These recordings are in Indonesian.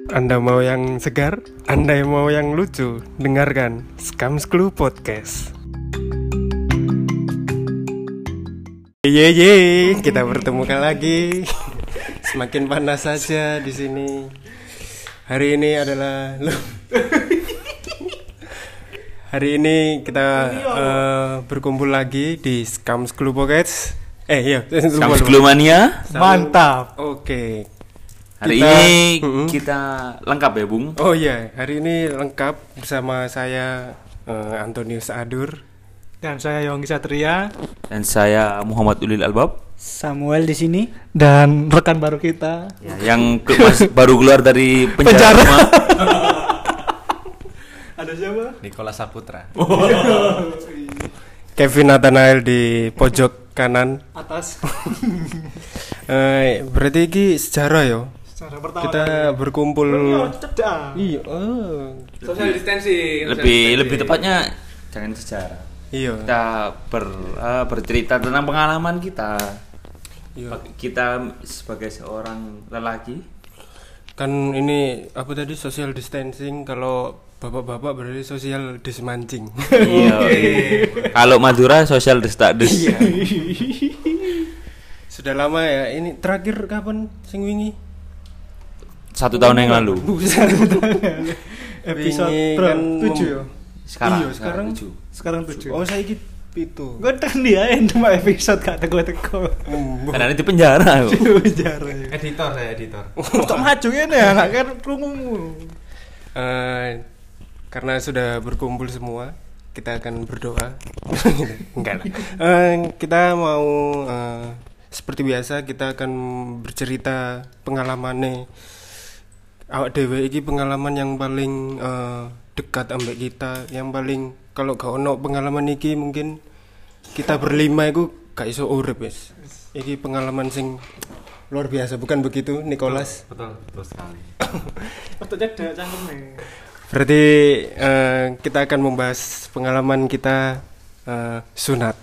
Anda mau yang segar? Anda yang mau yang lucu? Dengarkan Scams Clue Podcast. Ye, kita bertemu lagi. Semakin panas saja di sini. Hari ini adalah hari ini kita berkumpul lagi di Scams Clue Podcast. Scams Clue Mania. Mantap. Oke. Hari ini kita lengkap ya, Bung? Oh iya, hari ini lengkap bersama saya Antonius Adur dan saya Yonggi Satria dan saya Muhammad Ulil Albab. Samuel di sini dan rekan baru kita yang baru keluar dari penjara. Ada siapa? Nikola Saputra. Kevin Nathanael di pojok kanan Atas. Berarti ini sejarah ya. Secara pertama kita berkumpul. Iya. Social distancing. Lebih tepatnya jangan sejarah. Iya. Kita bercerita tentang pengalaman kita. Iya. Kita sebagai seorang lelaki. Kan ini apa tadi social distancing, kalau bapak-bapak berarti social dismancing. Iya. Kalau Madura social destadus. Iya. Sudah lama ya. Ini terakhir kapan sing wingi? 1 tahun yang lalu. Episode kan 7 ya. Sekarang. Iya, Sekarang 7. Oh, saya iki 7. Gue kan dia cuma episode gak teko-teko. Karena di penjara. Penjara. Editor saya editor. Kok maju ini ya enggak kan krungumu. Karena sudah berkumpul semua, kita akan berdoa. Enggak lah. Kita mau seperti biasa kita akan bercerita pengalaman nih. Awak dhewe iki pengalaman yang paling dekat ambek kita, yang paling kalau gak ono pengalaman iki mungkin kita berlima iku gak iso urip wis. Iki pengalaman sing luar biasa, bukan begitu Nicholas? Betul sekali. Otaknya ada cangkeme. Berarti kita akan membahas pengalaman kita sunat.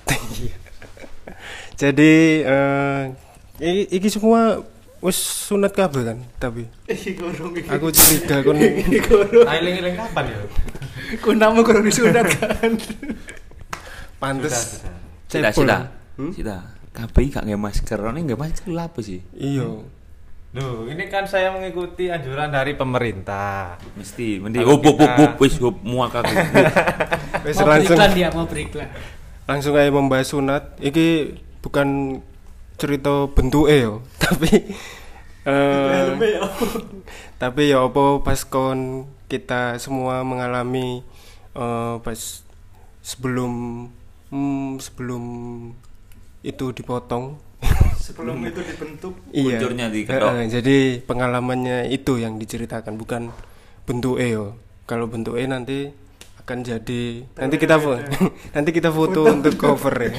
Jadi iki semua wis sunat kabeh kan, tapi aku curiga kon Ailing-ailing kapan ya? Ku namu kurang disunat kan. pantes Sida. Hmm? Sida. Kabeh gak nge masker. Ini nge masker lha apa sih? Iya. Duh, ini kan saya mengikuti anjuran dari pemerintah. Mesti Kalau wis muaka. Wis mau langsung beriklan dia mau beriklan. langsung aja membahas sunat. Iki bukan cerita bentuke yo, tapi tapi ya apa pas kon kita semua mengalami pas sebelum itu dipotong. Sebelum itu dibentuk. Iya. Kuncurnya diketok. Jadi pengalamannya itu yang diceritakan, bukan bentuke yo. Kalau bentuke nanti akan jadi nanti kita foto untuk cover ya.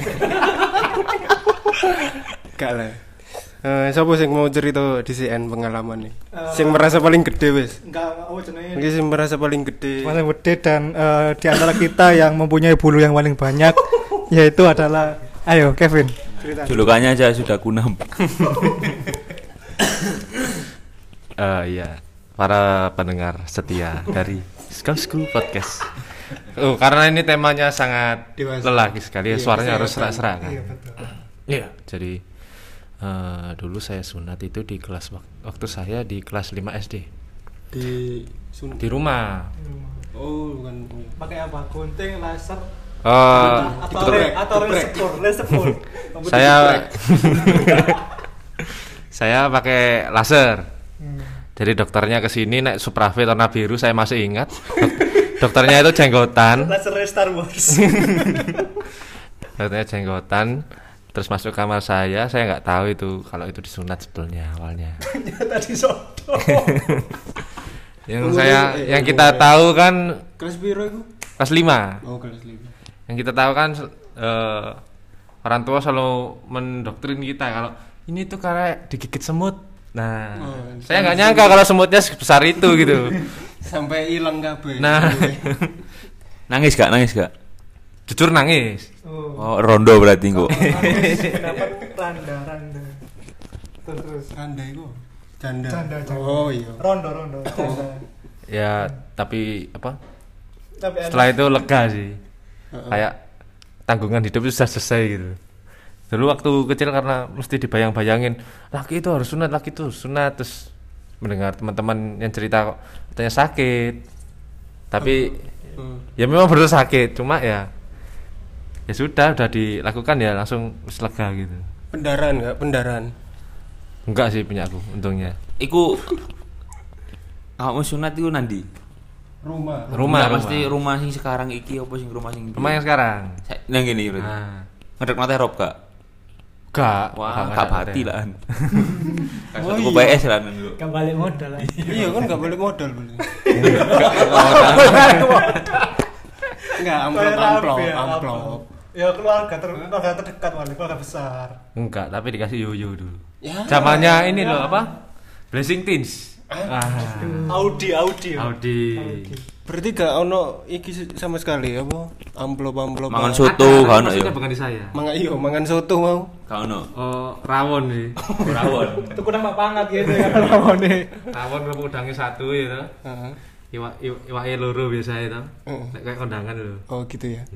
Gak lah. Siapa sing mau cerita di CN pengalaman nih? Sing merasa paling gede wis. Enggak, jenenge. Mungkin sing merasa paling gede. Paling gede dan di antara kita yang mempunyai bulu yang paling banyak yaitu adalah ayo Kevin cerita. Julukannya aja sudah kunam. Iya, para pendengar setia dari Scams Clue Podcast. Karena ini temanya sangat Dewasa. lelaki sekali, suaranya harus serak-serak kan. Iya betul. Iya, jadi dulu saya sunat itu di kelas waktu saya di kelas 5 SD di rumah. Oh, bukan. Pakai apa? Gunting, laser, Itu laser. saya pakai laser. Jadi dokternya kesini naik Suprafit warna biru, saya masih ingat. Dokternya itu jenggotan. Laser Star Wars. Dokternya jenggotan. Terus masuk kamar saya nggak tahu itu kalau itu disunat sebetulnya awalnya. Tadi soto. Yang kita tahu kan Kelas piro iku? kelas 5. Oh, kelas 5. Yang kita tahu kan orang tua selalu mendoktrin kita kalau ini tuh karena digigit semut. Nah, saya nggak nyangka kalau semutnya sebesar itu gitu. Sampai hilang kabeh. Nah, Nangis gak? jujur nangis. Oh, rondo berarti kok. Dapat randa. Terus Randa iku. Janda. Janda. Oh iya. Rondo janda. Ya, tapi apa? Tapi Setelah itu lega sih. Heeh. Kayak tanggungan hidup itu sudah selesai gitu. Dulu waktu kecil karena mesti dibayang-bayangin, laki itu harus sunat, terus mendengar teman-teman yang cerita kok katanya sakit. Tapi ya memang betul sakit, cuma ya sudah dilakukan ya langsung lega gitu. Pendarahan. Enggak sih punya aku untungnya. Iku kamu sunat iku nandi? Rumah. Enggak, pasti rumah sing sekarang iki apa sing rumah sing Rumah yang sekarang. nang ngene berarti. Nah, Ngedek mate rob gak? enggak. Wah, enggak gak ada. bati lah. Oh, Aku iya. PS lah dulu. Kan balik modal lah. Iya kan nggak boleh modal beli. Enggak amplop. Ya keluarga terdekat keluarga besar. Enggak, tapi dikasih yoyo dulu. Ya. Zamannya ini loh apa? Blessing Teens. Audi. Berarti gak ono iki sama sekali apa? Amplop. Mangan soto gak ono maksudnya ya. bukan di saya. Mangan soto mau. Gak ono. Oh, rawon sih. Rawon. Itu kurang pangat gitu ya lamone. Rawon kerupuk udangnya satu ya toh. Heeh. Iwake loro biasa itu. Heeh. Kayak kondangan lho. Oh gitu ya.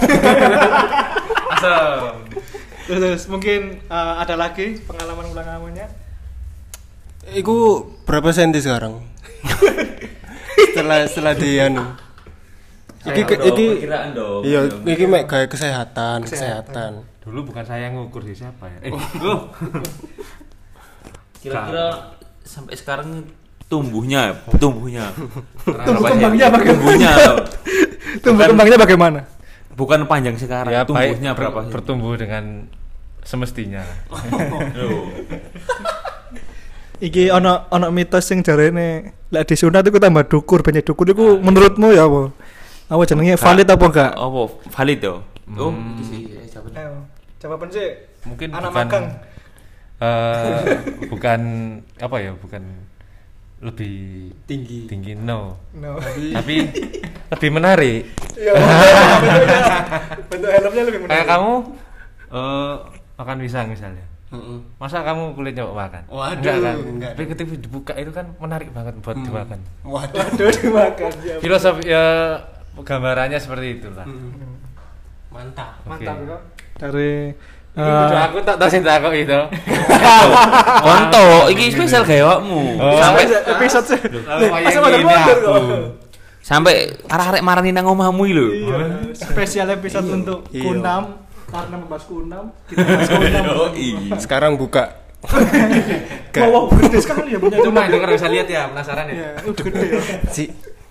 Asam. Terus mungkin ada lagi pengalamannya. Iku berapa senti sekarang? setelah di anu. Iki perkiraan dong. iya, iki mek gawe kesehatan. Dulu bukan saya yang ngukur sih, siapa ya? Kira-kira sampai sekarang tumbuhnya Tumbuh kembangnya bagaimana? bukan panjang sekarang, Ya baik tumbuhnya berapa sih? bertumbuh dengan semestinya. Loh. Iki ono mitos sing jarene lek disunat iku tambah dukur, banyak dukur iku menurutmu ya apa? Apa jenenge valid apa enggak? Apa valid yo? Oh, itu sih jawaban. Ayo, jawaban sih. Mungkin Anak bukan magang. bukan apa ya, bukan lebih tinggi no. Tapi lebih menarik. Iya. Bentuk helmnya lebih menarik. Kayak kamu makan pisang misalnya. Heeh. Masa kamu kulitnya makan? Waduh, enggak kan? enggak. Tapi ketika dibuka itu kan menarik banget buat dimakan. Waduh. Aduh dimakan ya. Filosofi ya gambarannya seperti itulah. Mantap. Oke. Mantap ya. Dari Aku tak tahu sih takut itu. Konto, iki spesial gawakmu. Sampai episode sih. Masa ada mundur kok. sampai arek-arek marani nang omahmu iki lho. Iya, spesial episode untuk Iya. Kunam karena membahas Kunam, kita bahas Kunam. Sekarang buka. Wow, gede sekali ya punya Cuma itu kan bisa lihat ya, penasaran ya. ya, udah gede ya. Si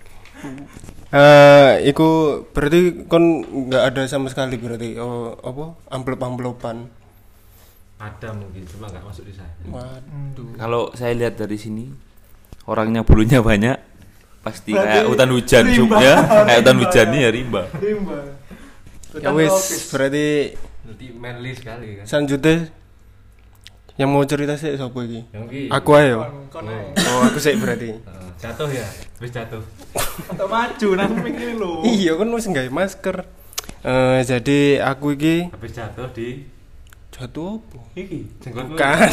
iku berarti kon nggak ada sama sekali berarti apa amplop-amplopan. Ada mungkin, cuma nggak masuk di saya. Waduh. Kalau saya lihat dari sini orangnya bulunya banyak, pasti Berarti kayak hutan hujan rimba. ya. Kayak hutan Rimba. hujan nih ya rimba. Rimba. Ya wis, berarti Nanti manly sekali kan. selanjutnya yang mau cerita sih siapa iki? Yang ki. Aku ayo. Kon ae. Oh, aku sih berarti. Jatuh ya, terus jatuh. Untuk maju nang mikir lho. Iya kan wis nggawe masker. Jadi aku iki Habis jatuh di jatuh apa? iki jenggotmu. Bukan.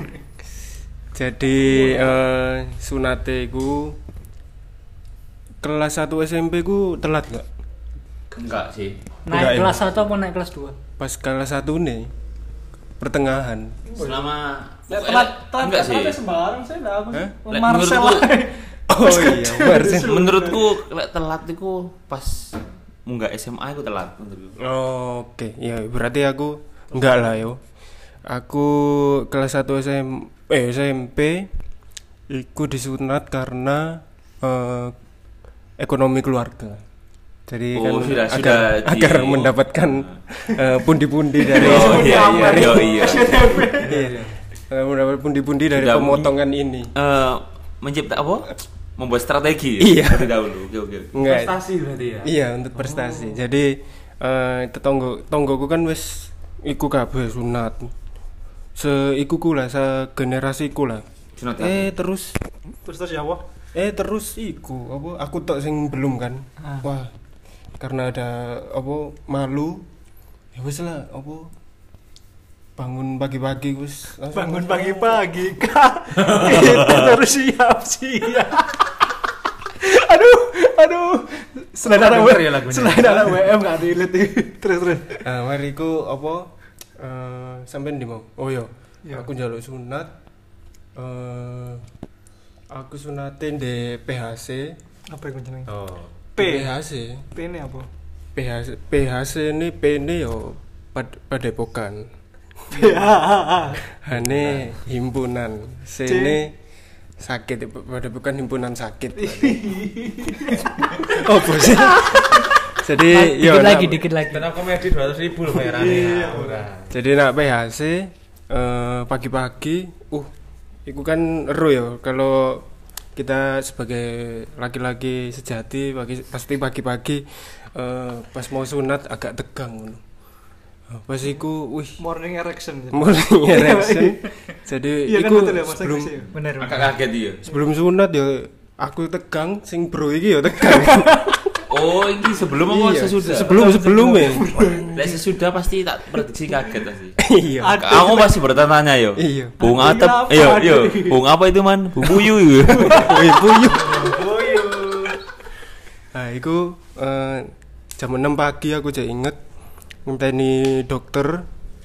Jadi sunate ku kelas 1 SMP ku telat gak? Enggak sih. Enggak, Naik ya? kelas 1 apa naik kelas 2? Pas kelas 1 nih pertengahan. Selama Telat enggak sih. sembarang saya enggak aku. Hah? Lek Marcel. menurutku- Oh iya, bener. Menurutku lek telat iku pas munggah SMA iku telat menurutku. Oke, ya berarti aku enggak lah yo. Aku kelas 1 SMP iku disunat karena ekonomi keluarga. Jadi Oh, kan sudah agar mendapatkan pundi-pundi dari Oh iya iya iya. Iya. Mendapat pundi-pundi dari Sudah pemotongan ini. Mencipta apa? Membuat strategi Iya. dari dahulu. Oke. Enggak. Prestasi berarti ya. Iya, untuk prestasi. Jadi tetanggoku kan wis iku kabeh sunat. Seikuku lah, segenerasiku lah. Sunat Terus ya Allah. terus iku apa aku tok sing belum kan. Wah, karena ada apa malu. Ya wis lah apa bangun pagi-pagi wis langsung Bangun pagi-pagi Kak. Kita harus siap-siap. Aduh. Selain anak Denger ya lagunya. Selain anak WM gak relate. Terus. Nah, mari ku apa sampean di mau. Oh iya. Iya. Aku njaluk sunat. Aku sunatin di PHC. Apa yang jenenge? Oh. PHC. P ini apa? PHC ini P ini yo Padepokan. Hane himpunan. C ini sakit Padepokan himpunan sakit. Oh, bos. Jadi yo Dikit lagi. Stand up komedi 200.000 loh bayarannya. Jadi nak PHC pagi-pagi, itu kan ero ya kalau kita sebagai laki-laki sejati pasti pagi-pagi pas mau sunat agak tegang. Pas iku, Morning erection. morning erection. Jadi Iya kan iku betul ya, masa sebelum kecil. Bener. Agak kaget dia. sebelum sunat ya aku tegang, sing bro iki ya tegang. Oh, ini sebelum apa Iya, sesudah? sebelum ya. Lah sesudah pasti tak prediksi kaget pasti. Iya. Aku masih bertanya yo. Iya. Bung Ada Atep, apa? yo. Bung apa itu man? Bung Puyu. Wih, puyuh. Nah, iku jam 6 pagi aku jadi inget ngenteni dokter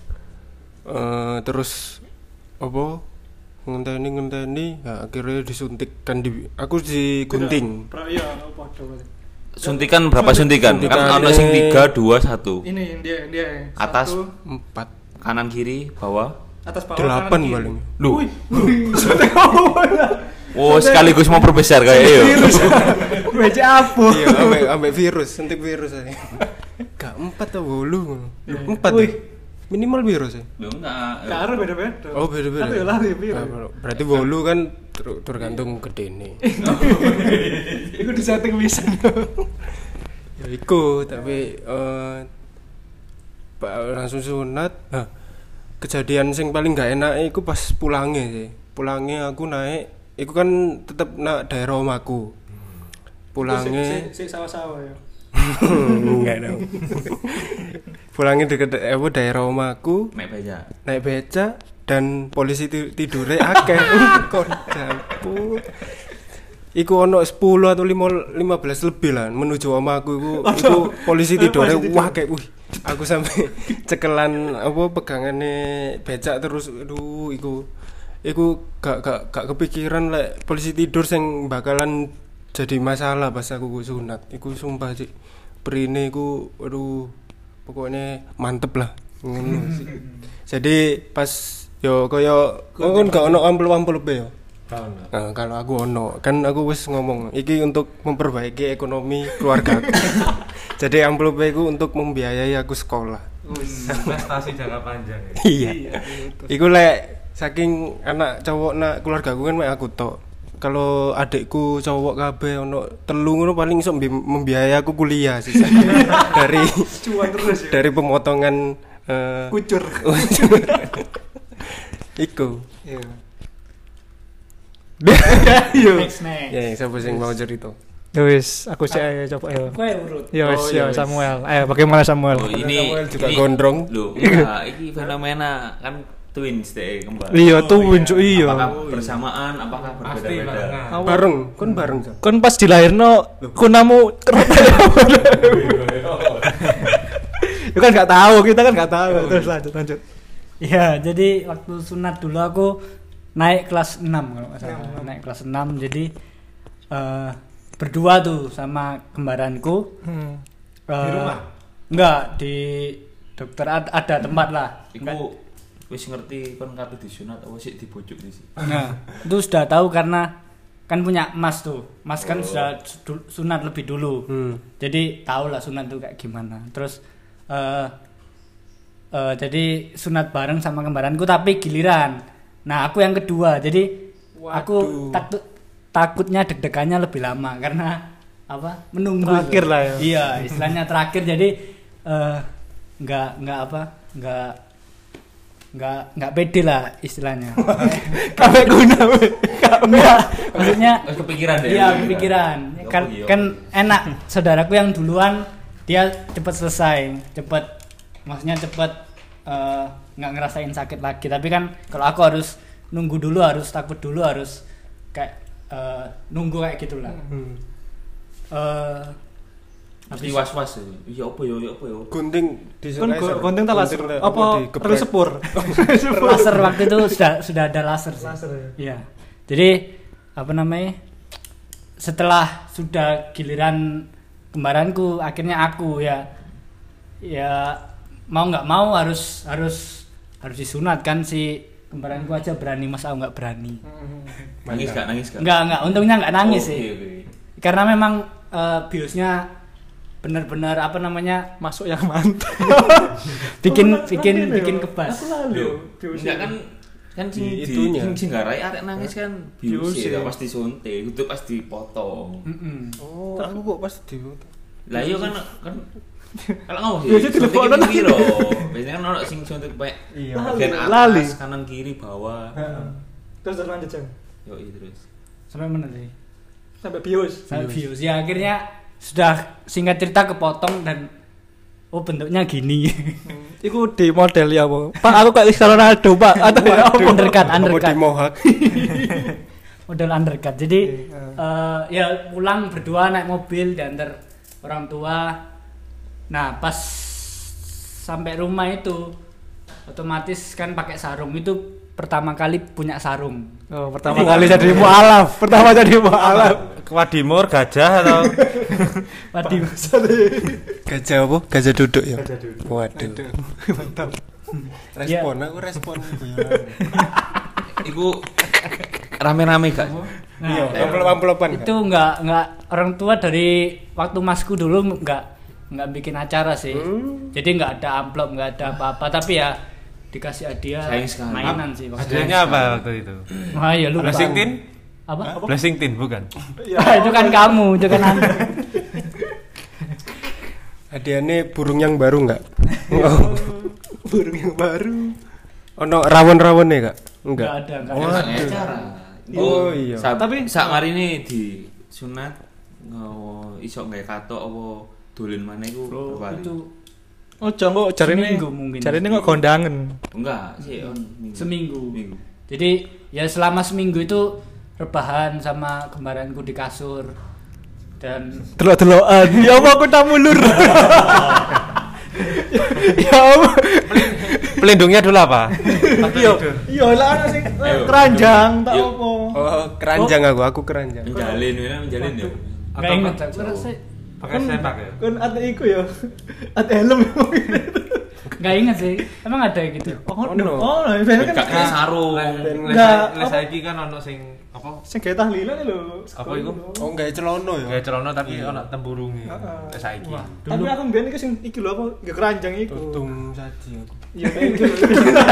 terus apa ngenteni nah, akhirnya disuntikkan aku digunting. Iya, padha. Suntikan berapa suntikan? Kan Suntikan ono sing ini- 3 2 1. Ini dia. Atas. 4 Kanan kiri bawah. Atas bawah 8 kanan, kiri. paling. Duh. Suntik apa? Oh, sekaligus mau perbesar kayak yo. Meja apa? Iya, ambek virus, suntik virus aja. Gak 4 atau 8. 4 Wih. ya? Minimal virus ya. Loh enggak. Karo beda-beda. Oh, beda-beda. Tapi ya lari piro. Nah, berarti 8 kan tergantung gedene. Iku disetting pisan. Ya iku tapi langsung sunat. Nah, kejadian sing paling gak enak iku pas pulangnya sih. Pulangnya aku naik, iku kan tetep nak daerah omahku. Pulangnya Si sawah-sawah ya. enggak dong. Pulangnya deket daerah omahku, Mek beja. naik beca dan polisi tidure akeh. Kok dapur. Iku ono 10 atau 15 lebih lah menuju omahku iku polisi tidure wah kayak aku sampai cekelan apa pegangane becak terus aduh iku gak kepikiran lek polisi tidur sing bakalan jadi masalah pas aku sunat. Iku sumpah sih prine iku aduh pokoknya mantep lah ngono sih. Jadi pas yo koyo kon gak ono amplop-amplop yo. Nah, kalau aku ono, kan aku wis ngomong, iki untuk memperbaiki ekonomi keluarga. Jadi amplop iku untuk membiayai aku sekolah. Investasi jangka panjang ya. Iya. Iku lek saking anak cowok nak keluarga aku kan mek aku tok. Kalau adikku cowok kabeh ono 3 ngono paling iso membiayai aku kuliah sih. dari Cuan terus ya. dari pemotongan Kucur. iku. Iya. Next. Ya, siapa sing mau cerita? Ya wis, aku sih ayo coba ya. Kowe urut. Ya wis, Oh, ya ya wis. Samuel. Ayo bagaimana Samuel? Oh, Samuel juga gondrong. Loh, enggak, ini fenomena kan twins deh kembar. Iya tuh Wincu iya. Apakah bersamaan, apakah Pasti berbeda-beda? barengan. Bareng, kon bareng Jan. Kon pas dilahirno kunamu kerap ya. Itu kan nggak tahu, kita kan nggak tahu. Terus lanjut. Ya, jadi waktu sunat dulu aku naik kelas 6 kalau nggak salah. Naik kelas 6 jadi berdua tuh sama kembaranku. Di rumah? Enggak, di dokter ada tempat lah. Iku wis ngerti kon kabeh disunat apa sih dibujuk sih. Nah, itu sudah tahu karena kan punya Mas tuh. Mas kan sudah sunat lebih dulu. Jadi tahu lah sunat tuh kayak gimana. Terus jadi sunat bareng sama kembaranku tapi giliran. Nah, aku yang kedua. Jadi aku takutnya deg-degannya lebih lama karena apa? Menunggu. Terakhir lah ya. Iya, istilahnya terakhir jadi nggak pede lah istilahnya. Kabeh guna. Enggak, maksudnya Wis kepikiran deh. iya kepikiran kan enak saudaraku yang duluan dia cepet selesai maksudnya cepet nggak ngerasain sakit lagi. Tapi kan kalau aku harus nunggu dulu, harus takut dulu, harus kayak nunggu kayak gitulah. Mesti was-was ya. Apa ya Gunting di Kan gunting tak laser. Apa perlu sepur? Laser waktu itu sudah ada laser sih. Laser ya. Iya. Jadi apa namanya? Setelah sudah giliran kembaranku, akhirnya aku ya mau nggak mau harus disunat kan. Si kembaranku aja berani, masa aku nggak berani. nangis gak Enggak, untungnya nggak nangis sih. okay. Karena memang biusnya benar-benar apa namanya, Masuk yang mantap. bikin kebas. Loh, enggak kan Itunya. sing garai arek nangis kan bius Bius ya. ya pasti suntik, itu pasti potong. Oh, aku kok pas di Lah iya kan kalau ngomong sih, Biasanya suntik teleponan itu piro? Biasanya kan ono sing suntik pakai Iya. bagian Lali. atas, kanan kiri, bawah. Terus lanjut Jang. Yo terus. Sampai mana sih? Sampai bius. Sampai views. Ya akhirnya sudah singkat cerita kepotong dan bentuknya gini. Iku di model ya, Bu. Pak, aku kayak Cristiano Ronaldo, Pak. Atau undercut. di mohak. Model undercut. Jadi ya pulang berdua naik mobil diantar orang tua. Nah, pas sampai rumah itu otomatis kan pakai sarung. Itu pertama kali punya sarung. Oh, pertama kali jadi mualaf. Wadimor gajah atau Waduh. Gajah apa? Gajah duduk ya. Gajah duduk. Waduh. Mantap. Aku respon guyonan. Iku rame-rame gak? Iya, Nah, amplop-amplopan. itu nggak orang tua dari waktu masku dulu nggak bikin acara sih. Jadi nggak ada amplop, nggak ada apa-apa, tapi ya dikasih hadiah Sayang sekali. mainan sih waktu itu. hadiahnya apa waktu itu? Wah, ya lupa. Blessing tin? Apa? Blessing tin bukan? Itu kan kamu, itu kan Anda. Hadiahnya burung yang baru enggak? Oh, burung yang baru. Ono rawon-rawonnya enggak? Nggak Enggak. ada, nggak Oh, ada. acara. Oh, iya. Tapi sak mari ini di sunat iso gawe katok apa dolen maneh iku Bro, berapa hari? itu Oh, Jang kok jarine Seminggu mungkin. kok kondangan. Enggak, sih minggu. seminggu. Minggu. Jadi ya selama seminggu itu rebahan sama kembaranku di kasur dan Delok-delokan. Ya apa aku tak mulur. Ya apa? Pelindungnya dulu apa? Iya lah ana sing keranjang tak Yuk. apa. Oh, keranjang aku keranjang. Menjalin ya. nggak ingat aku rasa Pakai sempak ya? Kan ate iku ya. Ate helm. nggak ingat sih, emang ada gitu. Oh, no. Oh, biasanya Gak kan kena sarung. Nggak, Les apa? saiki kan ono sing apa? sing gawe tahlilan lho. Apa iku? Oh, enggak celono ya. Kayak celana tapi ono tempurunge. Heeh. Les saiki. Tapi aku mbiyen iki sing iki lho apa? Gak keranjang iku. Untung saji aku. Iya iki lho.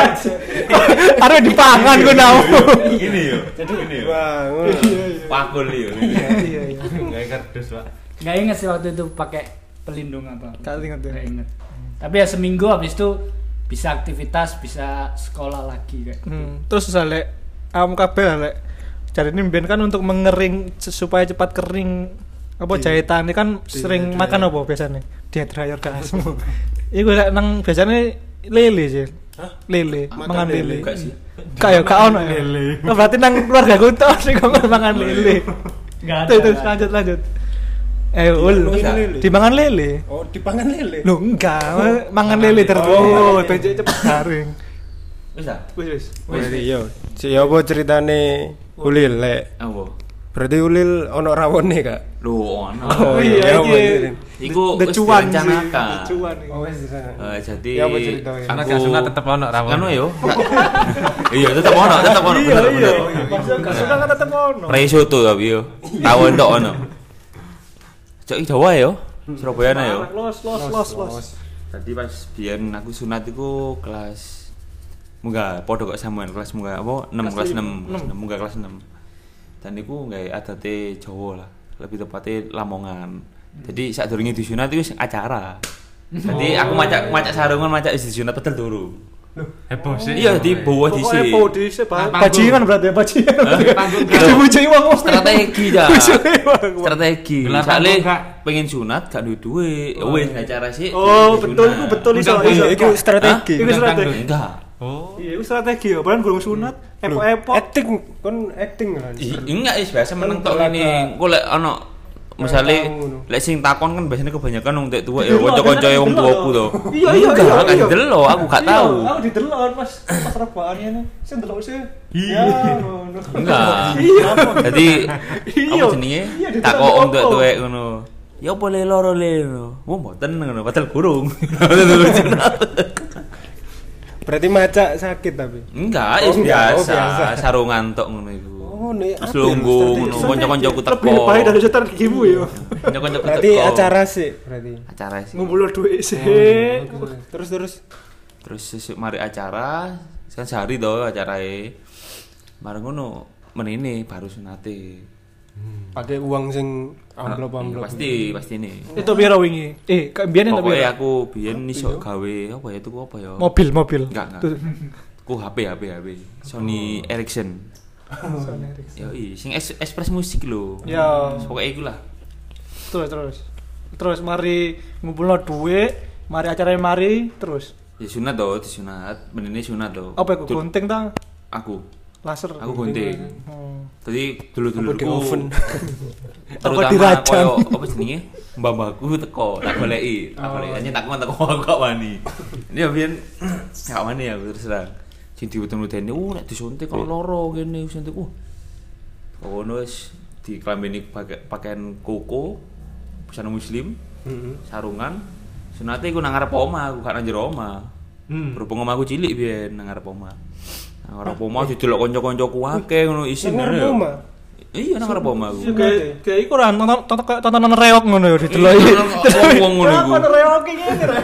Are dipangan ku nau. Gini yo. Jadi gini yo. Bangun. Pakul yo. Iya iya. Enggak kardus, Pak. Nggak ingat sih waktu itu pakai pelindung apa. Gak inget ya. Nggak ingat. Tapi ya seminggu habis itu bisa aktivitas, bisa sekolah lagi kayak. Terus misalnya kamu kabeh lek jarine mbiyen kan untuk mengering supaya cepat kering apa jahitan ini kan sering makan apa biasanya? Dia dryer gasmu. Iku lek nang biasanya lele sih. Lele, Makan mangan lele. lele. Enggak sih. Kayak gak ono ya. Oh, berarti nang keluarga ku tok sing kok mangan lele. Nggak ada. Terus lanjut. Ul, Lele. dimangan lele. Oh, dipangan lele. Loh enggak, mangan lele terus. Oh, cepet garing. Wis ah. Wis. Berarti yo. Si apa ceritane Ulil lek? Apa? Berarti Ulil ono rawone kak? Lho ono. Oh, iya, apa iya. ini? Iku The wis cuan sih. direncanakan. The cuan. Oh, wes. Jadi Ya, apa ceritanya? Karena gak sunat tetep ono rawon. Anu yo. Iya, tetep ono Iya, bener. iya. bener. Pas gak suka kan tetep ono. Presoto tapi yo. Tahu entuk ono. Cok Jawa yo. Surabaya yo. Los. Tadi pas biyen aku sunat iku kelas munggah padha kok sampean kelas munggah apa 6 kelas 6 munggah kelas 6. Dan iku gawe adate Jawa lah, lebih tepatnya Lamongan. Jadi sadurunge disunat iku wis acara. Jadi aku macak sarungan macak wis disunat pedel turu. Heboh sih. Iya di bawah di Pokoknya sini. po dhisik Panggung. bajingan berarti ya bajingan. Panggung Dibujuki wong. Strategi dah. Strategi. Gelar Soalnya panggung, Kak. pengen sunat gak duwe duit. Ya wis acara sih. Oh, pengen betul sunat. iku betul iso. Undang iso. Itu strategi. Iku strategi. Enggak. Oh. Iya, itu strategi ya. Padahal gurung sunat, epok-epok. Acting kon acting kan. Enggak is biasa meneng tok Kan ini. Engko lek ana misale ngono. lek sing takon kan biasanya kebanyakan wong tek tuwa ya Delok, kanca-kancae wong delok. tuaku to. Iya, iya, Enggak, iya, kan iya. delok aku gak Iya, tahu. Aku didelok pas rebahan ini. Sing delok sih. Iya. Ya, ngono. Enggak. Iya. Jadi Iya. apa jenenge? Iya, didelok Tak kok apa? om tuwek ngono. Ya boleh loro le ngono. Wong mboten ngono, padahal gurung. Berarti maca sakit tapi. Enggak, Oh, is enggak. Oh, biasa, biasa. sarungan tok ngono iku. Oh, nih Terus lungguh ngono, kanca-kancaku teko. Lebih baik dari strategimu ya. Kanca-kancaku teko. Berarti acara sih berarti. Acara sih. Ngumpul duit sih. Terus Terus sesuk mari acara, kan sehari to acarae. Bareng ngono menini baru sunate. pakai uang sing amplop-amplop. Pasti ini. Itu piro wingi? Biyen itu piro? Pokoknya aku biyen iso gawe apa ya tuku apa ya? Mobil. Enggak. Ku HP. Sony Ericsson. Yo sing Express musik lho. Ya. Pokoknya iku lah. Terus mari ngumpulno duit, mari acaranya mari terus. Ya sunat to, disunat. Menene sunat to. Apa iku gunting ta? Aku. Laser. Aku gunting. Tadi dulu-dulu Apa di oven? terutama dirajang? koyo apa jenenge? Mbah-mbahku teko, tak goleki. Hanya tak teko aku gak wani. Ini biyen gak wani aku terus terang. Sing diweden-wedeni, nek disuntik kok loro kene suntik. Ngono wis diklambeni pakaian koko busana muslim, sarungan. Sunate iku nang ngarep omah, aku gak nang jero omah. Berhubung omahku cilik biyen nang ngarep omah. Nang ngarep omah didelok kanca-kancaku akeh ngono isin Nang ngene ngarep ya. omah? Iya nang ngarep omah aku. Kayak iku ora tontonan reok ngono ya dideloki. Wong ngono iku. Apa reok iki ngene ra?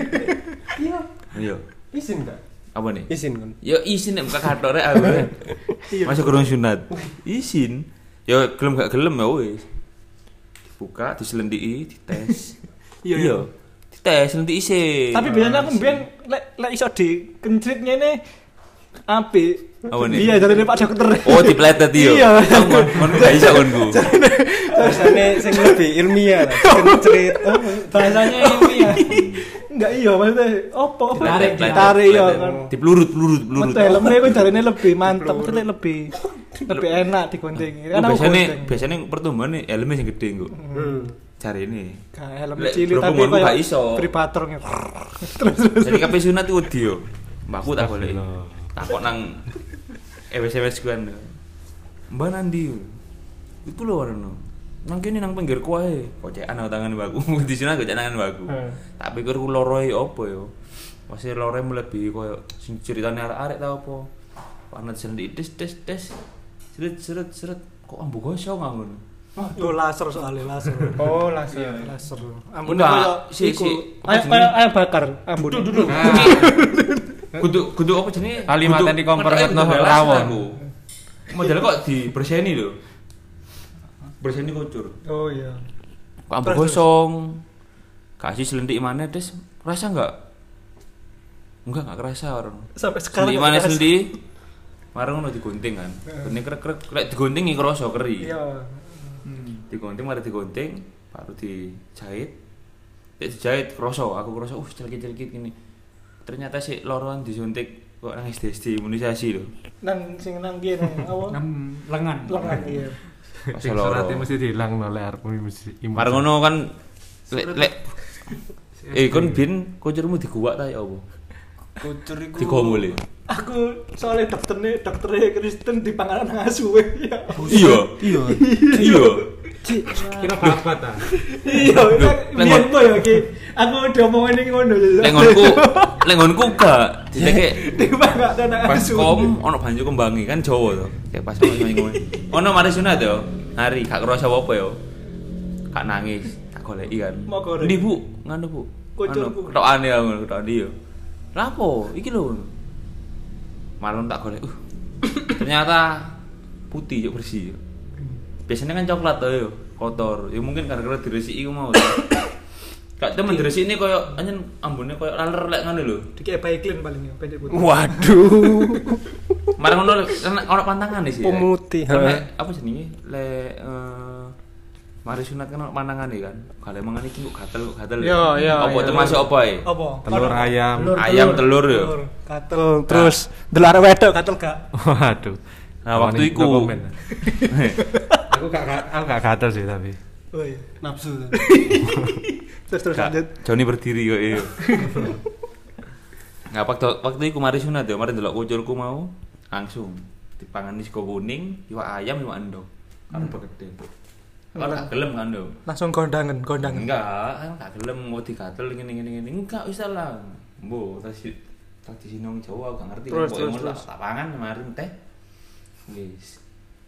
Iya. Izin enggak? Apa nih? Izin kan. Ya isin nek buka kathok rek aku. Masuk kurung sunat. Isin. Ya gelem gak gelem ya wis. Buka, diselendiki, dites. Iya. Dites selendiki sih. Tapi biasanya aku mbiyen lek iso dikencrit ngene apik. Apa nih? Iya, jarine Pak Dokter. Oh, dipletet yo. Iya. Kon gak iso konku. Rasane sing lebih ilmiah lah. Cerit. Bahasanya ini ya. Enggak iya, maksudnya opo Ditarik, ditarik ya dipletet. kan. Dipelurut. Metu helmnya ku jarine lebih mantep, lebih enak digunting. Kan aku gunting. Biasanya pertumbuhan nih helmnya yang gede kok. Cari ini. Gak helm Lek cilik tapi berhubungan gak kayak iso. privator gitu. Terus Jadi kabeh sunat iku wedi yo. Mbahku tak goleki. Takok nang SMS ku kan. Mbah nandi. Iku lho ngono. Nang kene nang pinggir kuae. Kocekan aku tangan mbahku. Di sunat kok tangan mbahku. Tak pikir ku loroe opo yo. Masih loroe melebihi koyo sing ceritane arek-arek ta opo. Panet sendik tes. Seret. Kok ambu gosong ngono. yo laser soalnya laser. Oh, langsung. Laser. Ambune Enggak, koyo si- iku. apa Ayo bakar ambune. Duduk. Kudu apa jenenge? Kalimatnya di kompor Kudu- ngetno kudu rawon. aku. Model kok diberseni lho. Berseni kucur. Oh iya. Kok ambu gosong. Kasih selentik mana des? Rasa enggak? Enggak kerasa orang. Sampai sekarang. Selentik mana selentik? Marang ngono digunting kan. Gunting krek-krek, lek digunting iki krasa keri. Iya. Digunting mari digunting, baru dijahit. Lek dijahit krasa, aku krasa celkit-celkit gini. Ternyata si loroan disuntik kok nang SD imunisasi lho. Nang sing nang kene apa? lengan. Lengan iya. Pas Sing loro. surate mesti diilang no lek arepmu mesti imun. Marang ngono kan lek kon bin kucurmu diguwak ta ya apa? Kucur iku. Digomol ya. Aku soalnya dokternya Kristen di panganan ngasuwe ya. Iya. Iya. Kira babat ta. Iya, lihat boy oke. Aku diomongin ini ngono. Lengonku gak diteke Di panganan pas ngasuwe. kom ono banyu kembangi kan Jawa to. Kayak pas ngomong. Ono mari sunat yo. Hari gak kerasa apa yo. Gak nangis, tak goleki kan. Mau goreng. Ndi Bu? Ngono Bu. Kucurku. Ketokane aku ketokane yo. Lapo? Iki lho. Malon tak golek. Ternyata putih yo bersih. Biasanya kan coklat tuh yo, kotor. Ya mungkin gara-gara diresiki iku mau. Kak temen dresik ini koyo anjen ambune koyo laler lek ngono lho. Dikek Baiklin paling ya, pendek putih. Waduh. Marang ngono ono pantangane sih. Pemutih, Lek apa jenenge? Lek mari sunat kan ono pantangane kan. Gale mangane iki kok gatel. Iya. Apa termasuk apa ae? Apa? Telur ayam. Ayam telur yo. Gatel terus delok arek wedok gatel gak? Waduh. Nah, waktu No iku. comment. aku gak gatel sih tapi. Oh iya. Nafsu. Terus Kak, lanjut. Joni berdiri kok iya. Nah, waktu iku mari sunat yo, mari ndelok kuculku mau langsung dipangani sego kuning, iwak ayam, iwak endog. Kan begede. Ora gak gelem kan lho. Langsung kondangan. Enggak, gak gelem mau digatel ngene. Enggak wis lah. Mbo, tradisi nang Jawa gak ngerti Terus, kok terus, ngono terus. tak pangan mari teh. Wis.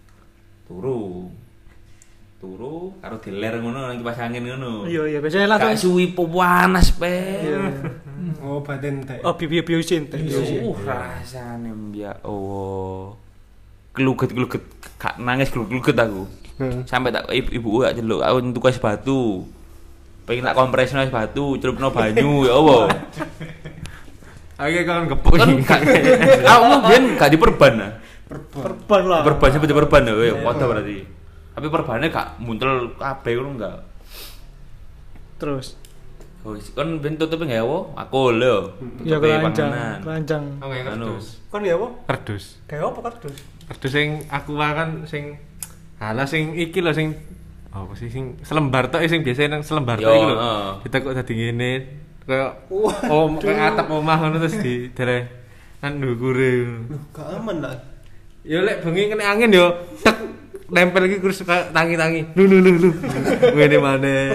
Turu karo diler ngono nang kipas angin ngono. Iya, biasanya langsung Gak suwi panas pe. Oh, batin teh. oh biosin teh. Rasane ya Allah. Keluget gak nangis keluget aku. Sampai tak ibuku gak celuk, aku ntuku es batu. Pengen tak kompresno es batu, celupno banyu ya Allah. Oke kan gepuk. Kan aku ben gak diperban nah. Perban lah. Perban sampai diperban ya, padha berarti. Tapi perbannya gak muntel kabeh ngono enggak. Terus. Wis kon ben tutupe gawe aku lho. Ya Tutupe keranjang. panganan. Oh, kayak Anu. kardus. Kon ya apa? Kardus. Kayak apa kardus? Kardus sing aku kan sing halah sing iki lho sing apa sih sing selembar tok sing biasa nang selembar tok Yo, iki lho. heeh. Ditekuk dadi ngene kayak kayak atap omah ngono terus di dereh nang ndukure. Gak aman lah. Ya lek bengi kena angin yo tek nempel iki terus tangi-tangi. Lu. Ngene maneh.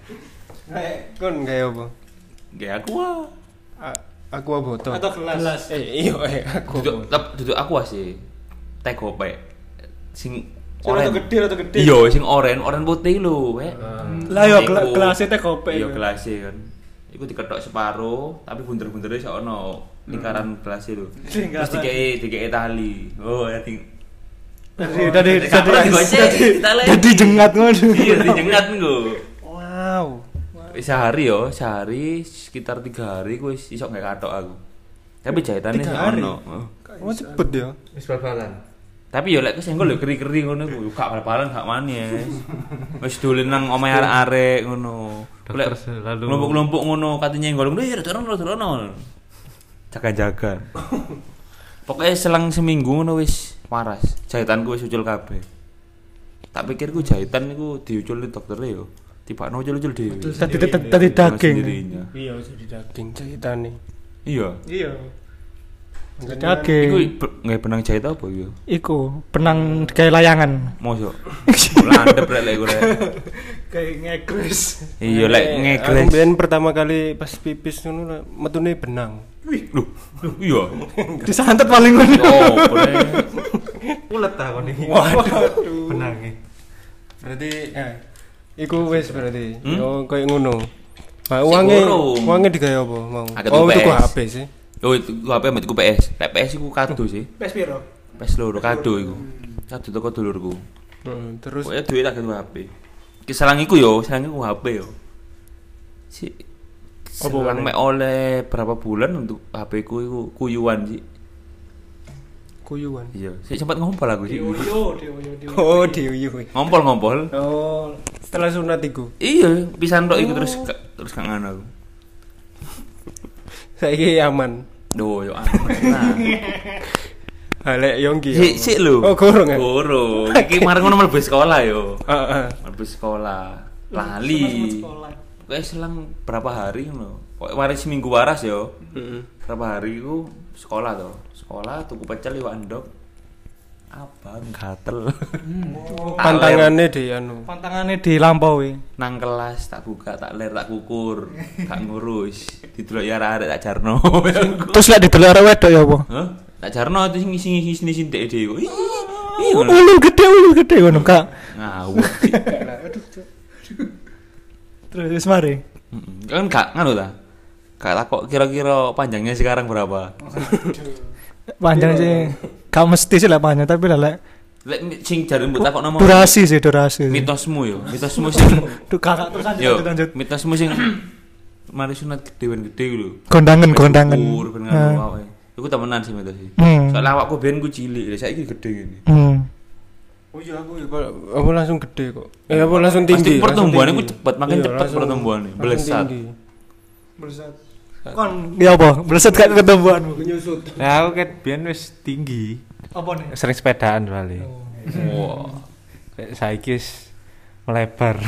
Kon kayak apa? Nggih aku ah. Aku apa botol? Atau gelas. Iya, aku. Duduk aku sih. Teh gopek. Sing Rada gede. Iya, sing oren putih lho, wek. Lah yo Iku- gelasnya teh kopi. Iya, gelasnya kan. Iku diketok separo, tapi bunder-bundere sak ono lingkaran gelasnya lho. Lingkaran. Terus dikei tali. Oh, ya ting. Tadi Jadi jengat ngono. Iya, dijengat nggo. Wow. Sehari sekitar 3 hari ku wis iso gak katok aku. Tapi jahitannya 3 hari? ono. Oh, cepet ya. Wis bal-balan. Tapi yo lek kesenggol yo keri-keri ngono ku, gak bal-balan gak manis. Wis dolen nang omahe arek-arek ngono. Dokter selalu Kelompok-kelompok ngono katanya nyenggol ngono ya dono. Jaga-jaga. Pokoknya selang seminggu ngono wis waras. Jahitanku wis ucul kabeh. Tak pikirku jahitan niku diucul dokter yo. Tibakno ucul-ucul dhewe. Tadi daging. Sendirinya. Iya, jadi daging jahitane. Iya. Iya. Iku Daging. nggak benang jahit apa yo? Iku benang kayak layangan. Mosok. Landep lek gue. Kayak ngegres. Iya lek Aku ngegres. mbiyen pertama kali pas pipis ngono metune benang. Loh, iya. Disantet paling ngono. Oh, boleh. ulet ta kon iki. Waduh. Benange. Berarti iku wis berarti. Hmm? Yo koyo ngono. Nah, Sigurung. uangnya digawe apa mau? Agak Oh, tuku tuku PS. HP sih. Oh, itu HP mbak tuku PS. Lek PS iku kado sih. Pes piro? PS loro kado iku. Kado teko dulurku. Terus Pokoknya duit tak kado HP. Ki selang iku yo, selang iku HP yo. Si selang mek oleh berapa bulan untuk HP ku iku kuyuan sih. kuyuan. Iya, sik sempat ngompol aku sih. Yo. Oh, diuyu. Ngompol. Oh, setelah sunat iku. Iya, pisan tok iku terus gak ngono aku. Saiki aman. Duh, yo aman. Halek Yongki. Sik lho. Oh, gorong ya. Gorong. Iki marang ngono mlebu sekolah yo. Heeh. Mlebu sekolah. Lali. Kayak selang berapa hari ngono. Kok waris seminggu waras yo. Heeh. Berapa hari iku sekolah to. Sekolah tuku pecel iwak endog. Abang gatel. Pantangane di anu. Pantangane dilampaui. Nang kelas tak buka, tak ler, tak kukur. Gak ngurus. Didelok ya arek tak jarno. Terus lek didelok arek wedok ya apa? Hah? Tak jarno itu sing dek dhewe. Ih, Ulun gede ngono, Kak. ngawur. Terus mari. Kan gak nganu ta? Gak takok kira-kira panjangnya sekarang berapa? Panjang sih. Gak mesti sih lah panjang, tapi lah lek Lek sing jare mbok takok nama durasi sih. mitosmu yo. Mitosmu sing Duh kakak terus yo, lanjut. mitosmu sing mari sunat gede lho. Kondangan. Syukur ben Nah. ngono wae. Iku temenan sih itu sih. Hmm. Soalnya awakku biyen ku cilik, saiki gede ngene. Oh iya aku ya apa langsung gede kok. Apa langsung tinggi. Pasti pertumbuhannya ku langsung cepet, makin Iya, cepet langsung- pertumbuhannya. langsung Belesat. tinggi. Belesat. Kon ya apa? Belesat gak ketembuanmu. Menyusut. Nah, aku kan biyen wis tinggi. Apa nih? Sering sepedaan soalnya. Wah. Kayak saiki wis melebar.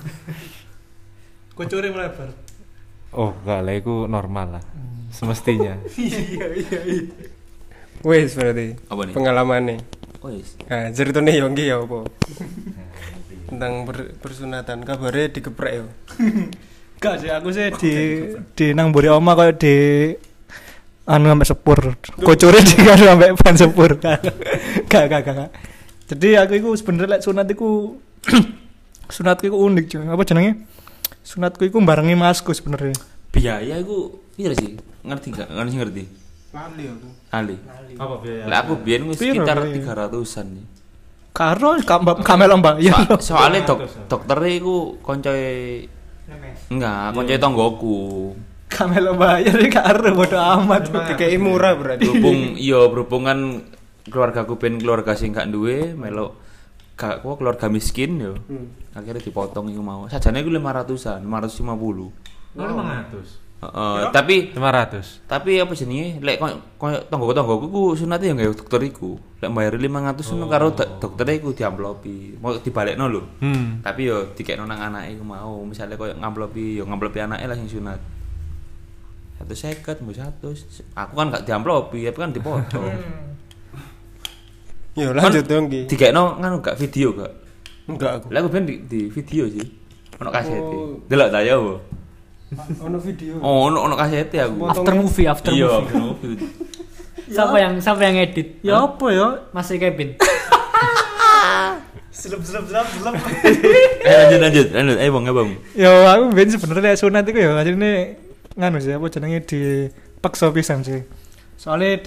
Kucure melebar. Oh, enggak lah itu normal lah. Semestinya. Iya. Wes berarti Apa nih? pengalamannya. Oh yes. Nah, ceritanya ya nggih ya apa? Tentang persunatan kabarnya dikeprek ya. Gak sih, aku sih di nang mburi oma koyo di anu sampai sepur. Kucure di anu sampai ban sepur. Gak. Jadi aku iku sebenarnya lek sunat iku sunatku iku unik cuy. Apa jenenge? Sunatku iku barengi masku sebenarnya. Biaya iku piro sih? Ngerti gak? Ngerti. Lali aku. Ali. Apa biaya? Lah aku biyen wis Piro sekitar biaya? 300-an nih. Karo kamel mbak. Ya. Soalnya dokternya iku koncoe enggak, koncoe tonggoku. Kamel bayar karo bodo amat. Kayak murah berarti. Berhubung kan keluargaku ben keluarga sing gak duwe, melok gak kok keluarga miskin yo. Akhirnya dipotong iku mau. Sajane iku 500-an, 550. 500. Tapi 500. apa jenenge lek koyo tonggo-tonggoku ku sunate ya gawe dokter iku. Lek bayar 500 ngono karo doktere iku diamplopi. Mau dibalekno lho. Tapi yo dikekno nang anake iku mau. Misale koyo ngamplopi anake lah sing sunat. 150 mbok 100. Aku kan gak diamplopi, tapi kan dipotong. Ya lanjut dong Ki. Dikekno nganu gak video gak? Enggak aku. Lah aku ben di video sih. Ono kasete. Oh. Delok ta ya apa? Ono video. Oh, ono kasete aku. After movie. Iya, movie. Siapa yang edit? Ya apa ya? Mas Kevin. Selep. Lanjut. Ayo Bang. Ya aku ben sebenarnya sunat iku ya asline nganu sih apa jenenge dipaksa pisan sih. Soalnya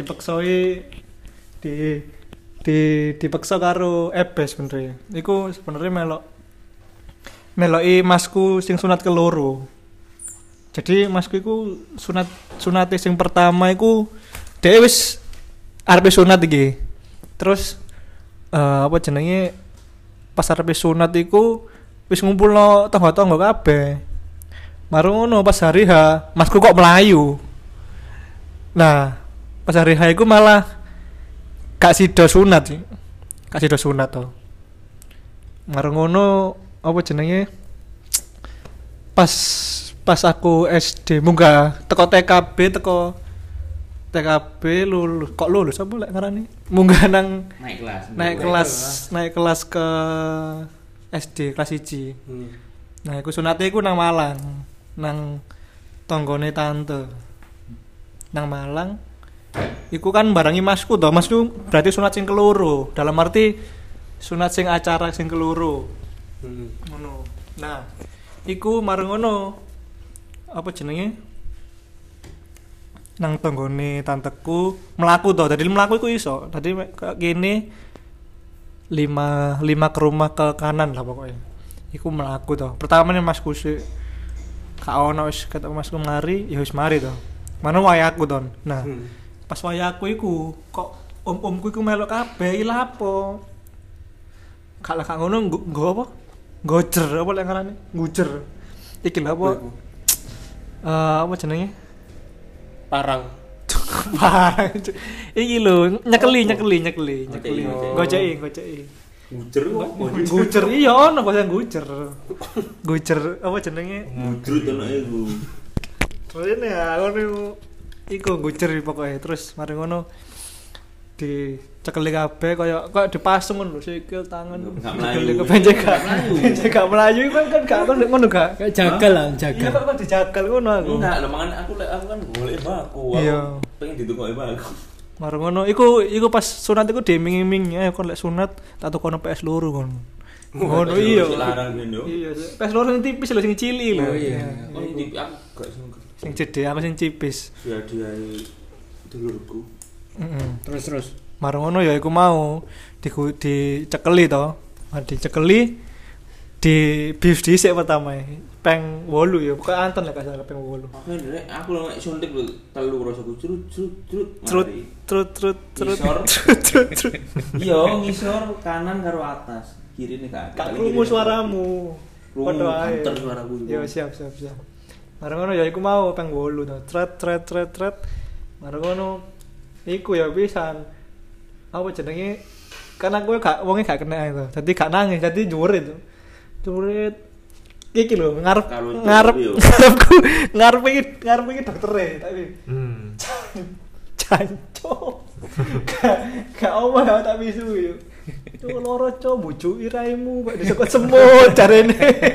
dipaksa karo ebes sebenarnya. Iku sebenarnya meloki masku sing sunat keloro. Jadi masku iku sunate sing pertama iku dhewe wis arep sunat iki. Terus apa jenenge pas arep sunat iku wis ngumpulno tangga-tangga kabeh. Marung ngono pas hari H, masku kok melayu. Nah, pas hari H iku malah gak sida sunat sih. Gak sida sunat to. Marung ngono apa jenenge? Pas aku SD munggah teko TKB lulus apa lek ngarani? Munggah nang naik kelas ke SD kelas 1. Nah, iku sunate iku nang Malang, nang tanggane tante. Nang Malang. Iku kan barangi masku to. Masku berarti sunat sing keloro. Dalam arti sunat sing acara sing keloro. Ngono. Nah, iku mareng ngono. Apa jenenge? Nang tanggane tanteku mlaku to. Dadi mlaku iku iso. Dadi kene 5 ke rumah ke kanan lah pokoknya. Iku mlaku to. Pertamane masku sik gak ono wis ketemu masku mari, ya wis mari to. Mana wayaku to. Nah, pas wayaku iku kok om-omku iku melok kabeh iki lha apa? Gak lah ngono nggo apa? Gojer apa lek ngarane? Ngujer. Iki lha apa? Apa jenenge? Parang. Parang. Iki lho, nyekeli. Goceki. Gujer kok. Gucer iya ono bahasa gucer. Gucer apa jenenge? Mudrut anake iku. Terus ini ya ngono iku gucer pokoknya terus mari ngono dicekeli kabeh kaya dipasung ngono sikil tangan. Gak melayu. Kebenjek gak melayu kan gak ngono gak. Kayak jagal lah, Iya jagal. kok dijagal ngono aku. Enggak, lho mangan aku kan golek baku. Iya. Pengen ditukoki baku. Mari ngono iku pas sunat iku diiming-iming kon lek sunat tak tukono PS loro ngono. Ngono iya. Larang ben yo. Iya, PS loro sing tipis lho sing cilik lho. Oh iya. Oh ini aku gak sing Sing cedek apa sing tipis. dia dulurku. Terus. Mari ngono ya iku mau dicekeli to. Dicekeli di bius dhisik pertama peng 8 ya pokoknya Anton lah kasar peng 8 Aku lho nek suntik lho telu rasaku crut trut trut trut trut Ngisor. trut trut Iya, ngisor kanan karo atas. Kirine gak. gak krungu suaramu Padha ae. anter suaraku. Ya siap. Marang ngono ya iku mau peng 8 to. Tret. Marang ngono iku ya pisan. Apa jenenge? Kan aku gak wonge gak kena itu. Dadi gak nangis, dadi jurit. Jurit. Iki lho ngarep iki doktere tapi. Cancok. Gak omah tak bisu yo. Cuk loro cuk bujuki raimu kok disokot semut jarene.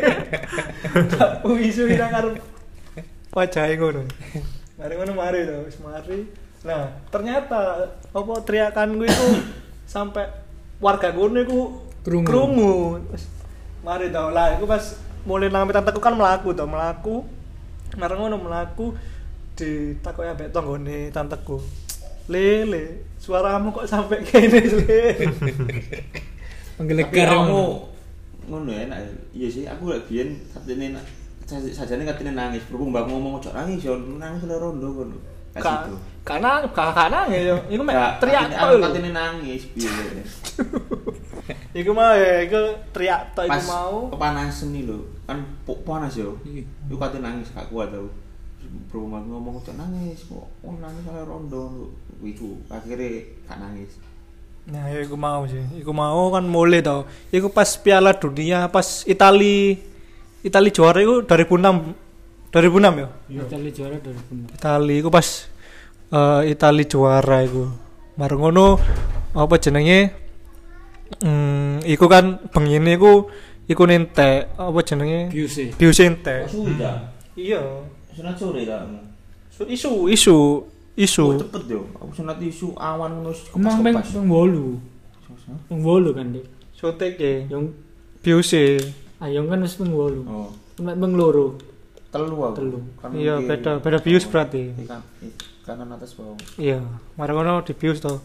Tak bisu ira karo wajahe ngono. Mari to, wis mari. Nah, ternyata apa teriakanku itu sampai warga ngono iku krungu. Mari to lah, iku pas mulai nang tanteku kan mlaku. Marang ngono mlaku ditakoki ambek tanggane tanteku. Lele, suaramu kok sampai kene le. Menggelegar Kamu ngono ya enak. Iya sih, aku lek biyen katene sajane katene nangis. Berhubung mbak ngomong ojo nangis yo nangis le rondo ngono. Karena nangis yo. Iku mek teriak tok Aku lho. katene nangis piye. Iku mau ya, iku teriak tok iku mau. Kepanasan nih lho. Kan panas yo. Iku katene nangis gak kuat tau. Berhubung mbak ngomong ojo nangis kok. Nangis le rondo. Iku akhirnya gak nangis. Nah, ya iku mau sih. Iku mau kan mulai tau. Iku pas Piala Dunia, pas Itali juara iku 2006 ya. Itali juara 2006. Itali iku pas Itali juara iku. Mareng ngono apa jenenge? Iku kan bengine iku nentek apa jenenge? Biuse entek. Sudah. Iya. Sunat sore ta. Isu. Cepet yo. Aku sunat isu awan ngono Emang peng 8 kan Dik. Sotek ya. Yang Biuse. ayong kan wis peng 8. Oh. Nek peng 2. Telu aku. Telu. Kan Iya, mungkin- beda bius berarti. Kanan atas bawah. Iya, mari ngono di bius to.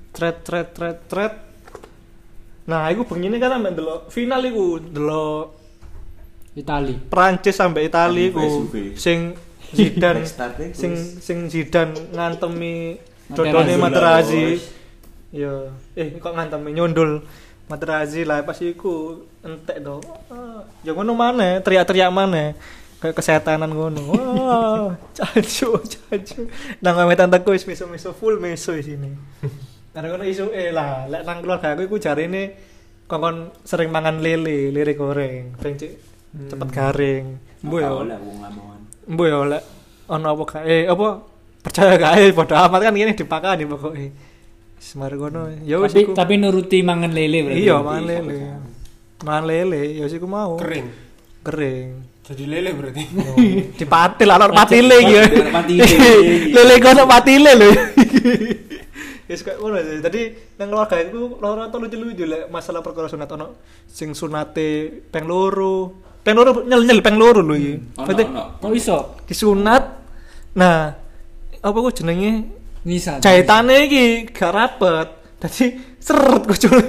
Tret. Nah, iku bengine kan ambek ndelok final iku, ndelok Itali. Prancis sampai Itali iku SUV. sing Zidane Backstage sing Zidane ngantemi Materazzi. dodone Materazzi. Iya, kok ngantemi nyundul Materazzi lah pas iku entek to. Ya ngono maneh, teriak-teriak maneh. Kayak kesetanan ngono. Wah, cacu. Nang ame tanteku wis meso full meso di sini. Karena ngono isu lah, lek nang keluarga aku iku jarine kongkon sering mangan lele goreng, ben cepet garing. Mbuh ya. oleh wong lamongan. Mbuh ya lek ono apa kae apa percaya kae padha amat kan ngene dipakani pokoke. Semar ngono. Ya wis iku. Tapi nuruti mangan lele berarti. Iya, mangan lele. Mangan lele, ya wis iku mau. Kering. Jadi lele berarti. dipatil ana patile iki. Patile. Lele kok ana patile lho. Wis kok ngono sih. Dadi nang keluarga iku rata lucu-lucu lek masalah perkara sunat ono sing sunate peng loro. Peng loro nyel peng loro lho iki. Berarti Kok iso? disunat. Nah, apa kok jenenge? Nisa. Jahitane iki gak rapet. Dadi seret kucule.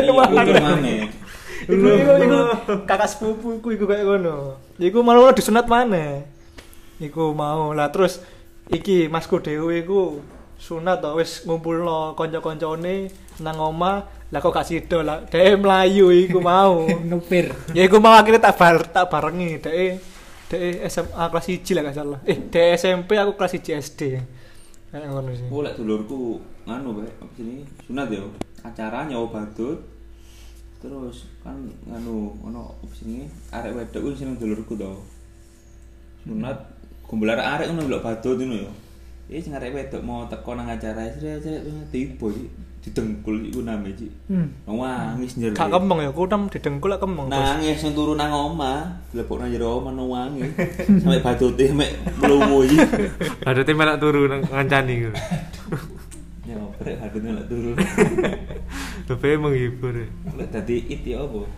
Iku kakak sepupuku iku kayak ngono. Iku malah disunat maneh. Iku mau lah terus iki masku dhewe iku sunat to wis ngumpulno kanca-kancane nang omah. Lah kok gak sida lah dhewe mlayu iku mau. Nupir. Ya iku mau akhirnya tak barengi dhewe SMA kelas 1 lah gak salah. Dhewe SMP aku kelas 1 SD. Kayak ngono sih. Oh, lek dulurku nganu bae, apa jenenge? Sunat yo. Acara nyawa badut. Terus kan nganu ono apa jenenge? Arek wedok ku sing dulurku to. Sunat kumpul arek ngono lho badut ngono yo. Sing arek wedok mau teko nang acara srek tiba didengkul iku name iki. Nangis njero. Gak kemeng ya, kutem didengkul lek kemeng. Nangis sing turu nang omah, lebok nang jero omah nangis. Sampai badute mek mluwu iki. Badute melak turu nang ngancani ku. Ya brek badute melak turu. Tapi menghibur. Lek dadi it ya apa?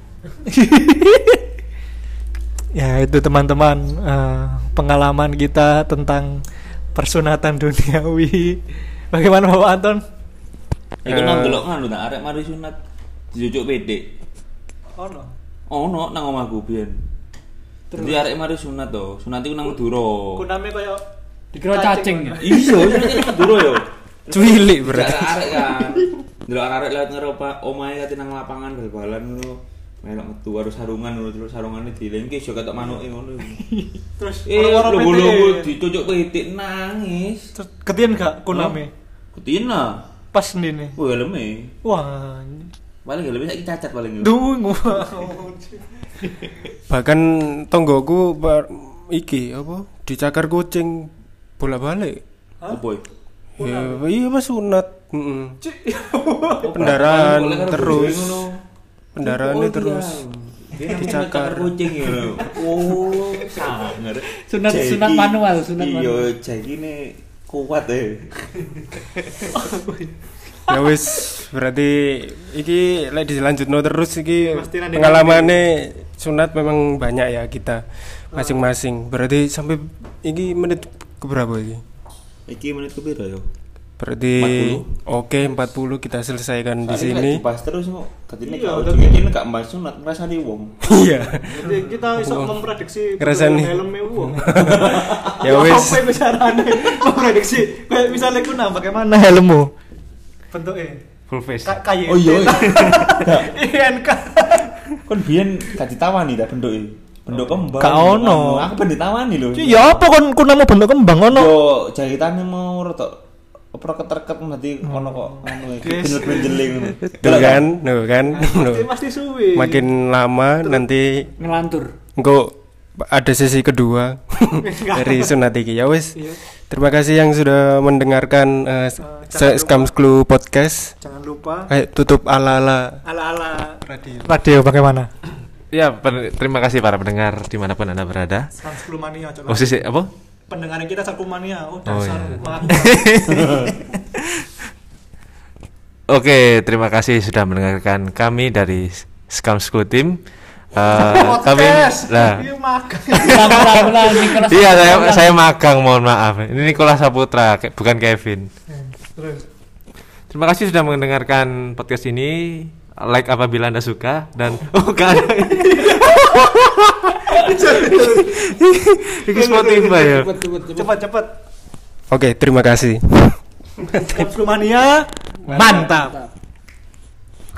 Ya itu teman-teman pengalaman kita tentang persunatan duniawi. Bagaimana Bapak Anton? Iku nang delok nganu ta arek mari sunat dijujuk PD. Ono. Ono nang omahku biyen. Dadi arek mari sunat to. Sunat iku nang Madura. Kuname koyo Dikira cacing ya. Iya, sunat nang Madura yo. Cuilik berarti. Arek kan. Delok arek lewat ngeropa omahe kate nang lapangan bal-balan ngono. Melok metu harus sarungan ngono terus sarungane dilengke yo ketok manuke ngono. terus lho dicucuk pitik nangis. Terus ketien gak kuname? Ketien lah. Pas ndene. Wah, helme. Wah. Paling helme saiki cacat paling. Dungu. Bahkan tonggoku iki apa dicakar kucing bolak-balik. Apa? Ya, iya pas sunat. Pendarahan terus. Pendarahannya terus dicakar kucing ya. Oh, sangar. Sunat manual, sunat manual. Iya, jagine kuat ya wis berarti iki lek dilanjutno terus iki Pasti pengalamane sunat memang banyak ya kita masing-masing. Berarti sampai iki menit keberapa iki? Iki menit kepiro yo? Berarti 40. Oke, 40 kita selesaikan di Soalnya sini. pas terus kok katine Iya, kalau udah ini gak mbahas sunat ngrasani wong. Iya. Jadi kita iso memprediksi Ngerasani. helmnya wong. Ya wis. Apa bicarane? Memprediksi kayak misalnya kuna bagaimana helmmu? Bentuknya Full face. kayak Oh iya. INK. Kon biyen gak ditawani ta bentuke. Bentuk kembang. Gak ono. Aku ben ditawani lho. Ya apa kon kunamu bentuk kembang ono? Yo jahitane mau rada opera keterket berarti ono kok anu bener benjeling ngono. Tuh kan, tuh kan. Pasti suwi. Makin lama nanti Ngelantur. engko ada sesi kedua dari sunat iki. Ya wis. Iya. Terima kasih yang sudah mendengarkan Scams Clue Podcast. Jangan lupa Ayo tutup ala-ala ala-ala radio. radio bagaimana? Ya, terima kasih para pendengar dimanapun Anda berada. Sansklumania coba. Oh, sih, apa? Pendengaran kita Sansklumania. Oh, Oh, dasar iya. mati. Oke, terima kasih sudah mendengarkan kami dari Scams Clue Team. Kami lah. Iya makan. Ulang Nicholas. Iya, saya magang, mohon maaf. Ini Nicholas Saputra, bukan Kevin. Terus. Terima kasih sudah mendengarkan podcast ini. Like apabila Anda suka dan kan. Ini Spotify ya. Cepat. Oke, terima kasih. Sansklumania mantap.